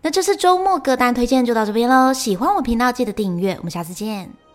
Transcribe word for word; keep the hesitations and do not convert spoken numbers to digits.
那這次週末歌單推薦就到這邊嘍，喜歡我頻道記得訂閱，我們下次見。